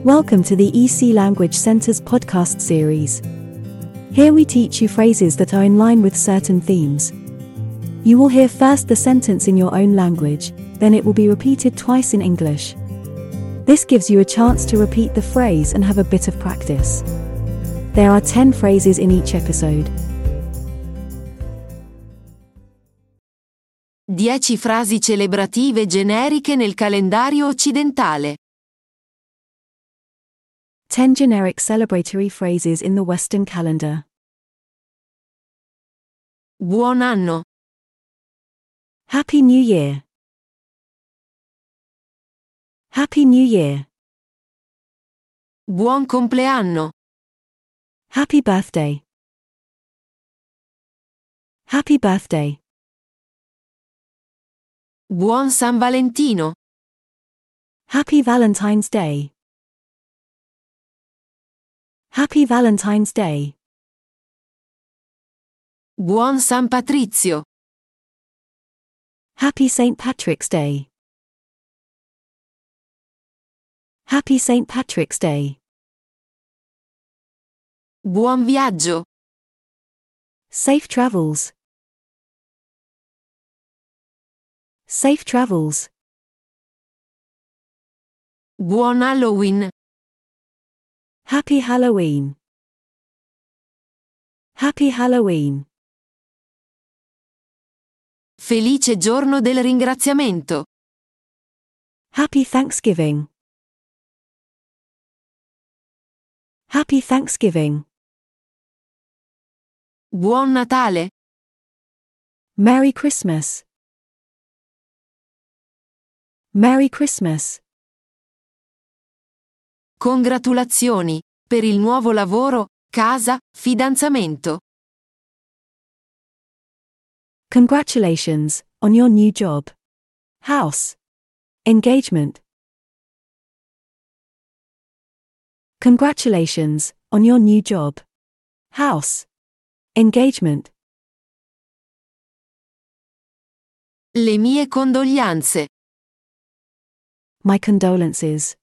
Welcome to the EC Language Center's podcast series. Here we teach you phrases that are in line with certain themes. You will hear first the sentence in your own language, then it will be repeated twice in English. This gives you a chance to repeat the phrase and have a bit of practice. There are 10 phrases in each episode. 10 frasi celebrative generiche nel calendario occidentale. 10 generic celebratory phrases in the Western calendar. Buon anno. Happy New Year. Happy New Year. Buon compleanno. Happy birthday. Happy birthday. Buon San Valentino. Happy Valentine's Day. Happy Valentine's Day. Buon San Patrizio. Happy St. Patrick's Day. Happy St. Patrick's Day. Buon viaggio. Safe travels. Safe travels. Buon Halloween. Happy Halloween. Happy Halloween. Felice giorno del ringraziamento. Happy Thanksgiving. Happy Thanksgiving. Buon Natale. Merry Christmas. Merry Christmas. Congratulazioni per il nuovo lavoro, casa, fidanzamento. Congratulations on your new job, house, engagement. Congratulations on your new job, house, engagement. Le mie condoglianze. My condolences.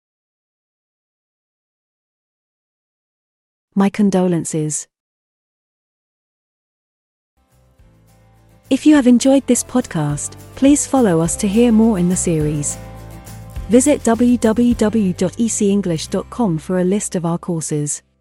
My condolences. If you have enjoyed this podcast, please follow us to hear more in the series. Visit www.ecenglish.com for a list of our courses.